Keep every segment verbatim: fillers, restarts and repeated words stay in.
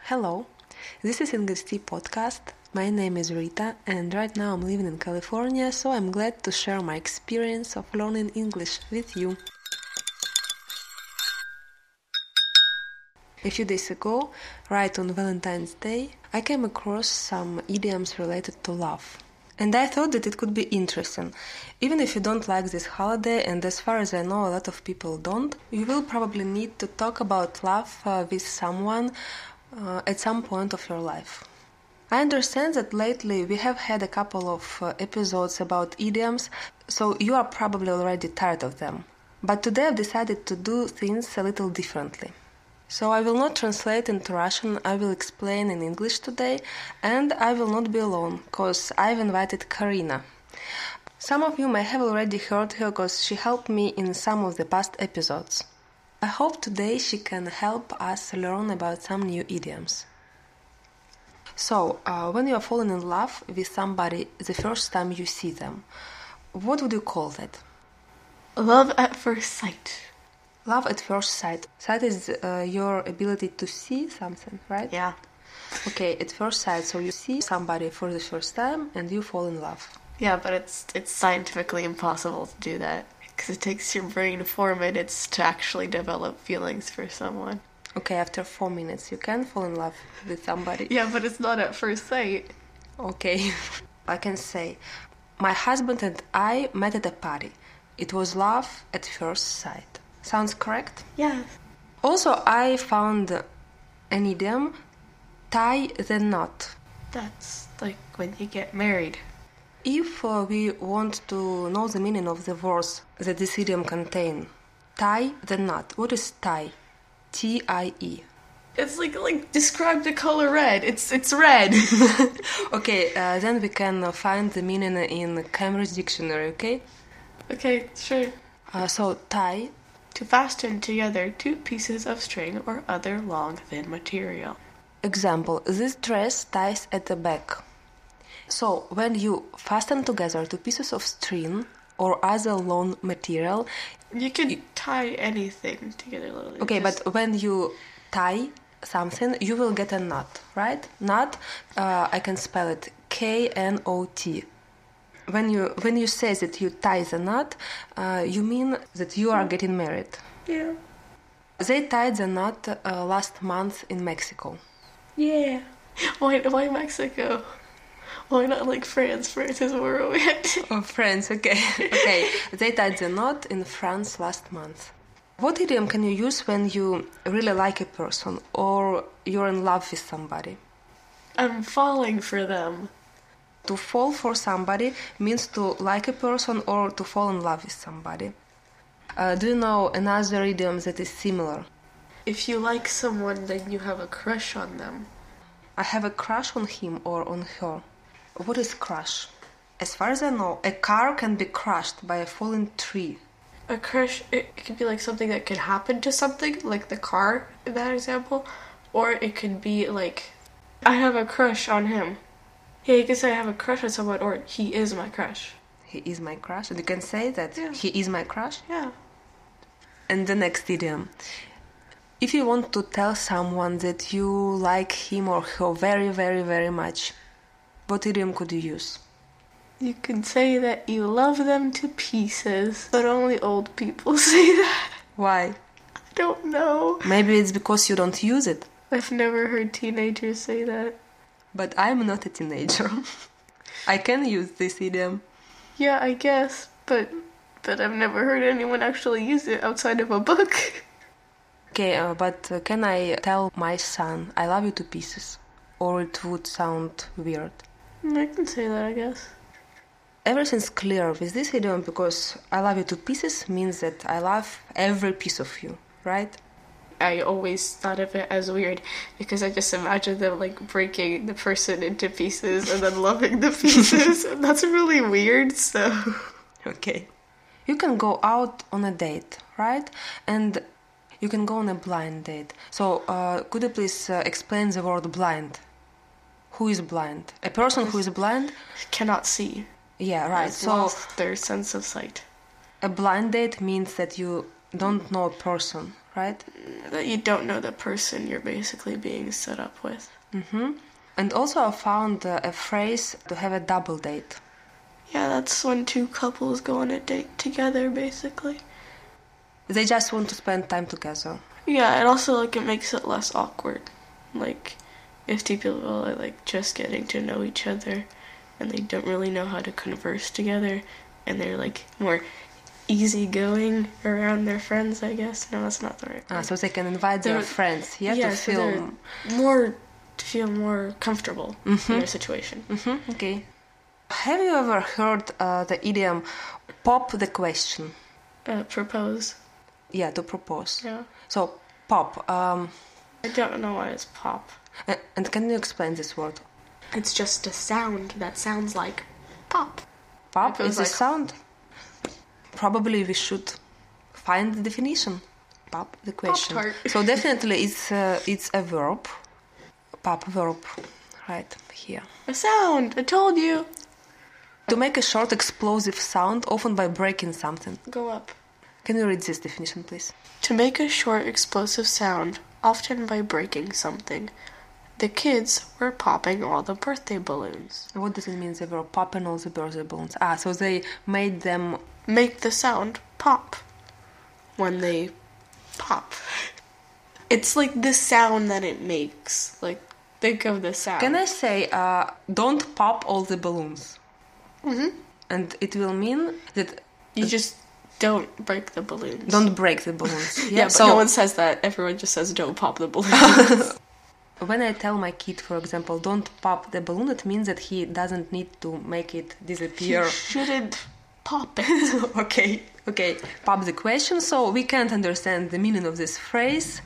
Hello, this is English Tea Podcast. My name is Rita and right now I'm living in California, so I'm glad to share my experience of learning English with you. A few days ago, right on Valentine's Day, I came across some idioms related to love. And I thought that it could be interesting. Even if you don't like this holiday, and as far as I know a lot of people don't, you will probably need to talk about love uh, with someone uh, at some point of your life. I understand that lately we have had a couple of uh, episodes about idioms, so you are probably already tired of them. But today I've decided to do things a little differently. So I will not translate into Russian, I will explain in English today, and I will not be alone, because I've invited Karina. Some of you may have already heard her because she helped me in some of the past episodes. I hope today she can help us learn about some new idioms. So, uh, when you are falling in love with somebody the first time you see them, what would you call that? Love at first sight. Love at first sight. Sight is uh, your ability to see something, right? Yeah. Okay, at first sight, so you see somebody for the first time and you fall in love. Yeah, but it's it's scientifically impossible to do that because it takes your brain four minutes to actually develop feelings for someone. Okay, after four minutes you can fall in love with somebody. Yeah, but it's not at first sight. Okay. I can say, my husband and I met at a party. It was love at first sight. Sounds correct? Yes. Also, I found an idiom, tie the knot. That's like when you get married. If uh, we want to know the meaning of the words that this idiom contains, tie the knot. What is tie? T I E. It's like like describe the color red. It's it's red. Okay, uh, then we can uh, find the meaning in Cambridge Dictionary, okay? Okay, sure. Uh, so, tie. To fasten together two pieces of string or other long, thin material. Example, this dress ties at the back. So, when you fasten together two pieces of string or other long material... You can you, tie anything together. Literally. Okay, Just... but when you tie something, you will get a knot, right? Knot, uh, I can spell it K N O T. When you when you say that you tie the knot, uh, you mean that you are getting married. Yeah. They tied the knot uh, last month in Mexico. Yeah. Why why Mexico? Why not like France? France is where we went. Oh, France, okay. Okay, they tied the knot in France last month. What idiom can you use when you really like a person or you're in love with somebody? I'm falling for them. To fall for somebody means to like a person or to fall in love with somebody. Uh, do you know another idiom that is similar? If you like someone, then you have a crush on them. I have a crush on him or on her. What is crush? As far as I know, a car can be crushed by a falling tree. A crush, it could be like something that could happen to something, like the car in that example. Or it could be like, I have a crush on him. Yeah, you can say I have a crush on someone, or he is my crush. He is my crush. And you can say that yeah. he is my crush? Yeah. And the next idiom. If you want to tell someone that you like him or her very, very, very much, what idiom could you use? You can say that you love them to pieces, but only old people say that. Why? I don't know. Maybe it's because you don't use it. I've never heard teenagers say that. But I'm not a teenager. I can use this idiom. Yeah, I guess, but but I've never heard anyone actually use it outside of a book. Okay, uh, but uh, can I tell my son, I love you to pieces? Or it would sound weird? I can say that, I guess. Everything's clear with this idiom because I love you to pieces means that I love every piece of you, right? I always thought of it as weird because I just imagined them like breaking the person into pieces and then loving the pieces. And that's really weird, so... Okay. You can go out on a date, right? And you can go on a blind date. So, uh, could you please uh, explain the word blind? Who is blind? A person who is blind? Cannot see. Yeah, right. Has so lost their sense of sight. A blind date means that you don't know a person, right? That you don't know the person you're basically being set up with. Mm-hmm. And also I found uh, a phrase to have a double date. Yeah, that's when two couples go on a date together, basically. They just want to spend time together. Yeah, and also, like, it makes it less awkward. Like, if two people are, like, just getting to know each other and they don't really know how to converse together and they're, like, more easygoing around their friends, I guess. No, that's not the right word. Ah, so they can invite their They're- friends, yeah, yeah, to so feel... they're more, to feel more comfortable Mhm. in their situation. Mm-hmm, okay. Have you ever heard uh, the idiom pop the question? Uh, propose. Yeah, to propose. Yeah. So, pop. Um, I don't know why it's pop. a- and can you explain this word? It's just a sound that sounds like pop. Pop It is feels a like- sound. Probably we should find the definition. Pop the question. Pop-tart. So definitely it's uh, it's a verb. Pop verb, right here. A sound! I told you! To make a short explosive sound, often by breaking something. Go up. Can you read this definition, please? To make a short explosive sound, often by breaking something. The kids were popping all the birthday balloons. What does it mean? They were popping all the birthday balloons. Ah, so they made them. Make the sound pop when they pop. It's like the sound that it makes. Like, think of the sound. Can I say, uh, don't pop all the balloons? Mm-hmm. And it will mean that You just don't break the balloons. don't break the balloons. Yeah, but so no one says that. Everyone just says don't pop the balloons. when I tell my kid, for example, don't pop the balloon, it means that he doesn't need to make it disappear. You shouldn't pop it. okay, okay. Pop the question. So we can't understand the meaning of this phrase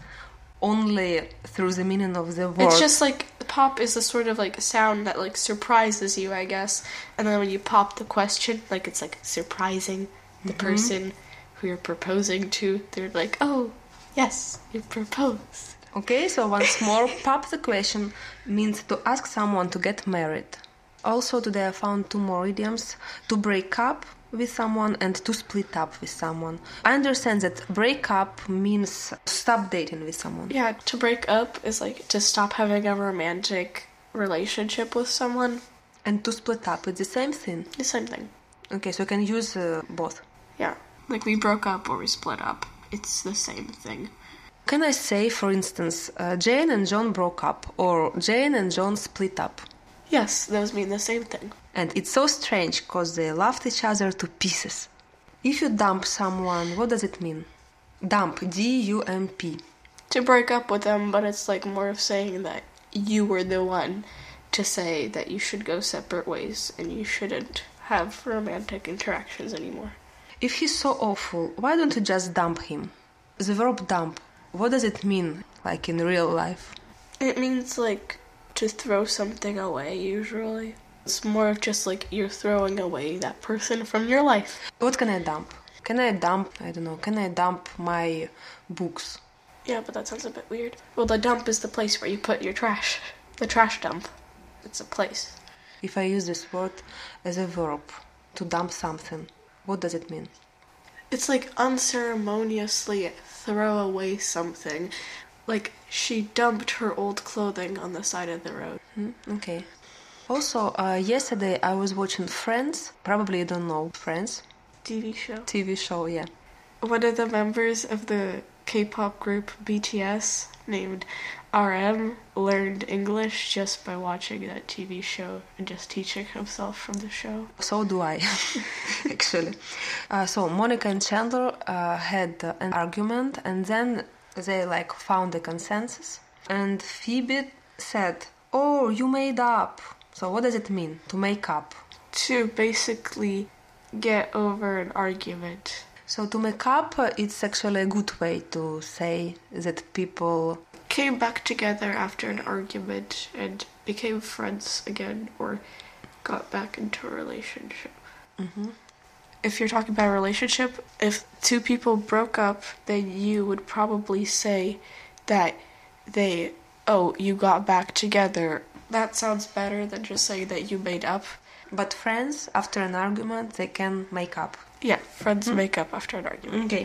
only through the meaning of the word. It's just like pop is a sort of like sound that like surprises you, I guess. And then when you pop the question, like it's like surprising the Mm-hmm. person who you're proposing to. They're like, oh, yes, you proposed. Okay, so once more, pop the question means to ask someone to get married. Also, today I found two more idioms: to break up with someone and to split up with someone. I understand that break up means stop dating with someone. Yeah, to break up is like to stop having a romantic relationship with someone. And to split up, it's the same thing. The same thing. Okay, so you can use uh, both. Yeah. Like we broke up or we split up. It's the same thing. Can I say, for instance, uh, Jane and John broke up, or Jane and John split up? Yes, those mean the same thing. And it's so strange because they loved each other to pieces. If you dump someone, what does it mean? Dump, D U M P. To break up with them, but it's like more of saying that you were the one to say that you should go separate ways and you shouldn't have romantic interactions anymore. If he's so awful, why don't you just dump him? The verb dump, what does it mean, like in real life? It means like to throw something away, usually. It's more of just like you're throwing away that person from your life. What can I dump? Can I dump, I don't know, can I dump my books? Yeah, but that sounds a bit weird. Well, the dump is the place where you put your trash. The trash dump. It's a place. If I use this word as a verb, to dump something, what does it mean? It's like unceremoniously throw away something. Like she dumped her old clothing on the side of the road. Hmm? Okay. Also, uh, yesterday I was watching Friends. Probably you don't know Friends. T V show. T V show, yeah. One of the members of the K-pop group B T S named R M learned English just by watching that T V show and just teaching himself from the show. So do I, actually. Uh, so Monica and Chandler uh, had uh, an argument, and then they like found a consensus. And Phoebe said, "Oh, you made up." So what does it mean to make up? To basically get over an argument. So to make up, uh, it's actually a good way to say that people Came back together after an argument and became friends again or got back into a relationship. Mm-hmm. If you're talking about a relationship, if two people broke up, then you would probably say that they, oh, you got back together. That sounds better than just saying that you made up. But friends, after an argument, they can make up. Yeah, friends make up after an argument. Okay.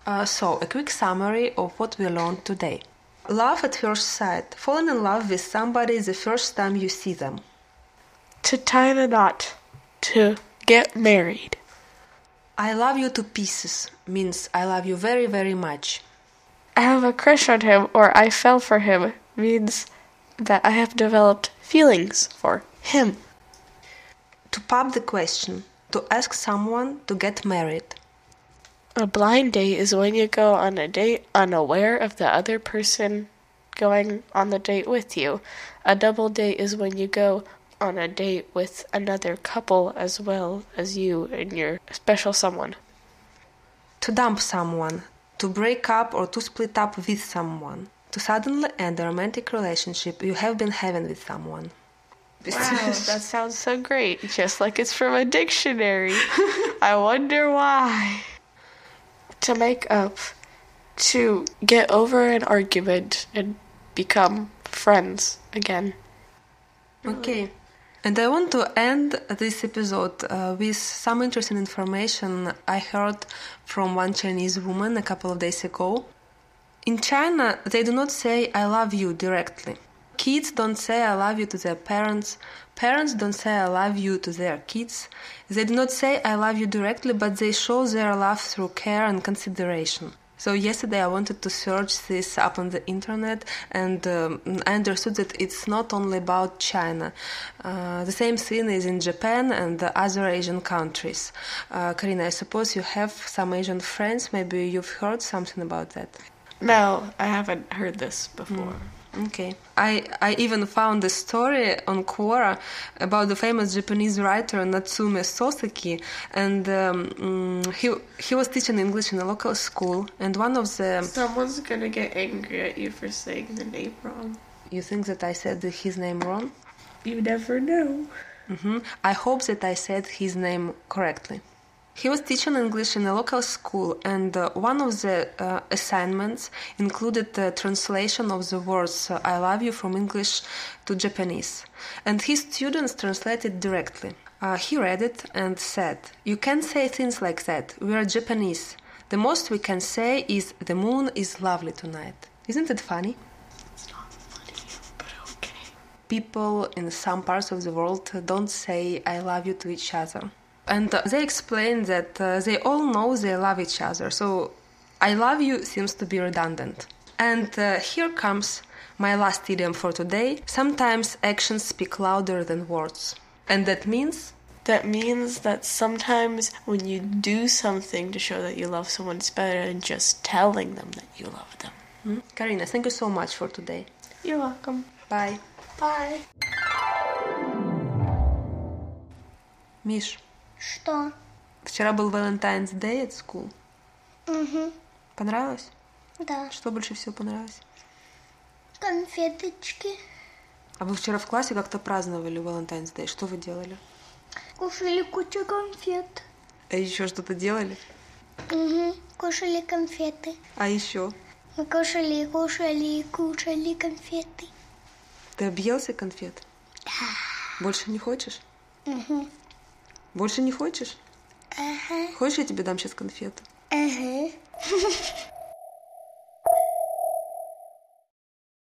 Uh, so, a quick summary of what we learned today. Love at first sight. Falling in love with somebody the first time you see them. To tie the knot. To get married. I love you to pieces means I love you very, very much. I have a crush on him or I fell for him means that I have developed feelings for him. To pop the question. To ask someone to get married. A blind date is when you go on a date unaware of the other person going on the date with you. A double date is when you go on a date with another couple as well as you and your special someone. To dump someone. To break up or to split up with someone. To suddenly end a romantic relationship you have been having with someone. Wow, that sounds so great. Just like it's from a dictionary. I wonder why. To make up. To get over an argument and become friends again. Okay. And I want to end this episode uh, with some interesting information I heard from one Chinese woman a couple of days ago. In China, they do not say I love you directly. Kids don't say I love you to their parents. Parents don't say I love you to their kids. They do not say I love you directly, but they show their love through care and consideration. So yesterday I wanted to search this up on the internet, and um, I understood that it's not only about China. Uh, the same thing is in Japan and the other Asian countries. Uh, Karina, I suppose you have some Asian friends. Maybe you've heard something about that. No, I haven't heard this before. Mm. Okay. I, I even found a story on Quora about the famous Japanese writer Natsume Soseki, and um, mm, he he was teaching English in a local school, and one of the... Someone's gonna get angry at you for saying the name wrong. You think that I said his name wrong? You never know. Mm-hmm. I hope that I said his name correctly. He was teaching English in a local school, and uh, one of the uh, assignments included the translation of the words uh, I love you from English to Japanese. And his students translated directly. Uh, he read it and said, "You can't say things like that. We are Japanese. The most we can say is the moon is lovely tonight." Isn't it funny? It's not funny, but okay. People in some parts of the world don't say I love you to each other. And uh, they explain that uh, they all know they love each other, so I love you seems to be redundant. And uh, here comes my last idiom for today. Sometimes actions speak louder than words. And that means? That means that sometimes when you do something to show that you love someone, it's better than just telling them that you love them. Mm? Karina, thank you so much for today. You're welcome. Bye. Bye. Миш, Что? вчера был Valentine's Day at school. Угу. Понравилось? Да. Что больше всего понравилось? Конфеточки. А вы вчера в классе как-то праздновали Valentine's Day. Что вы делали? Кушали кучу конфет. А еще что-то делали? Угу. Кушали конфеты. А еще? Мы кушали, кушали, кушали конфеты. Ты объелся конфет? Да. Больше не хочешь? Угу. Больше не хочешь? Ага. Хочешь, я тебе дам сейчас конфету? Ага.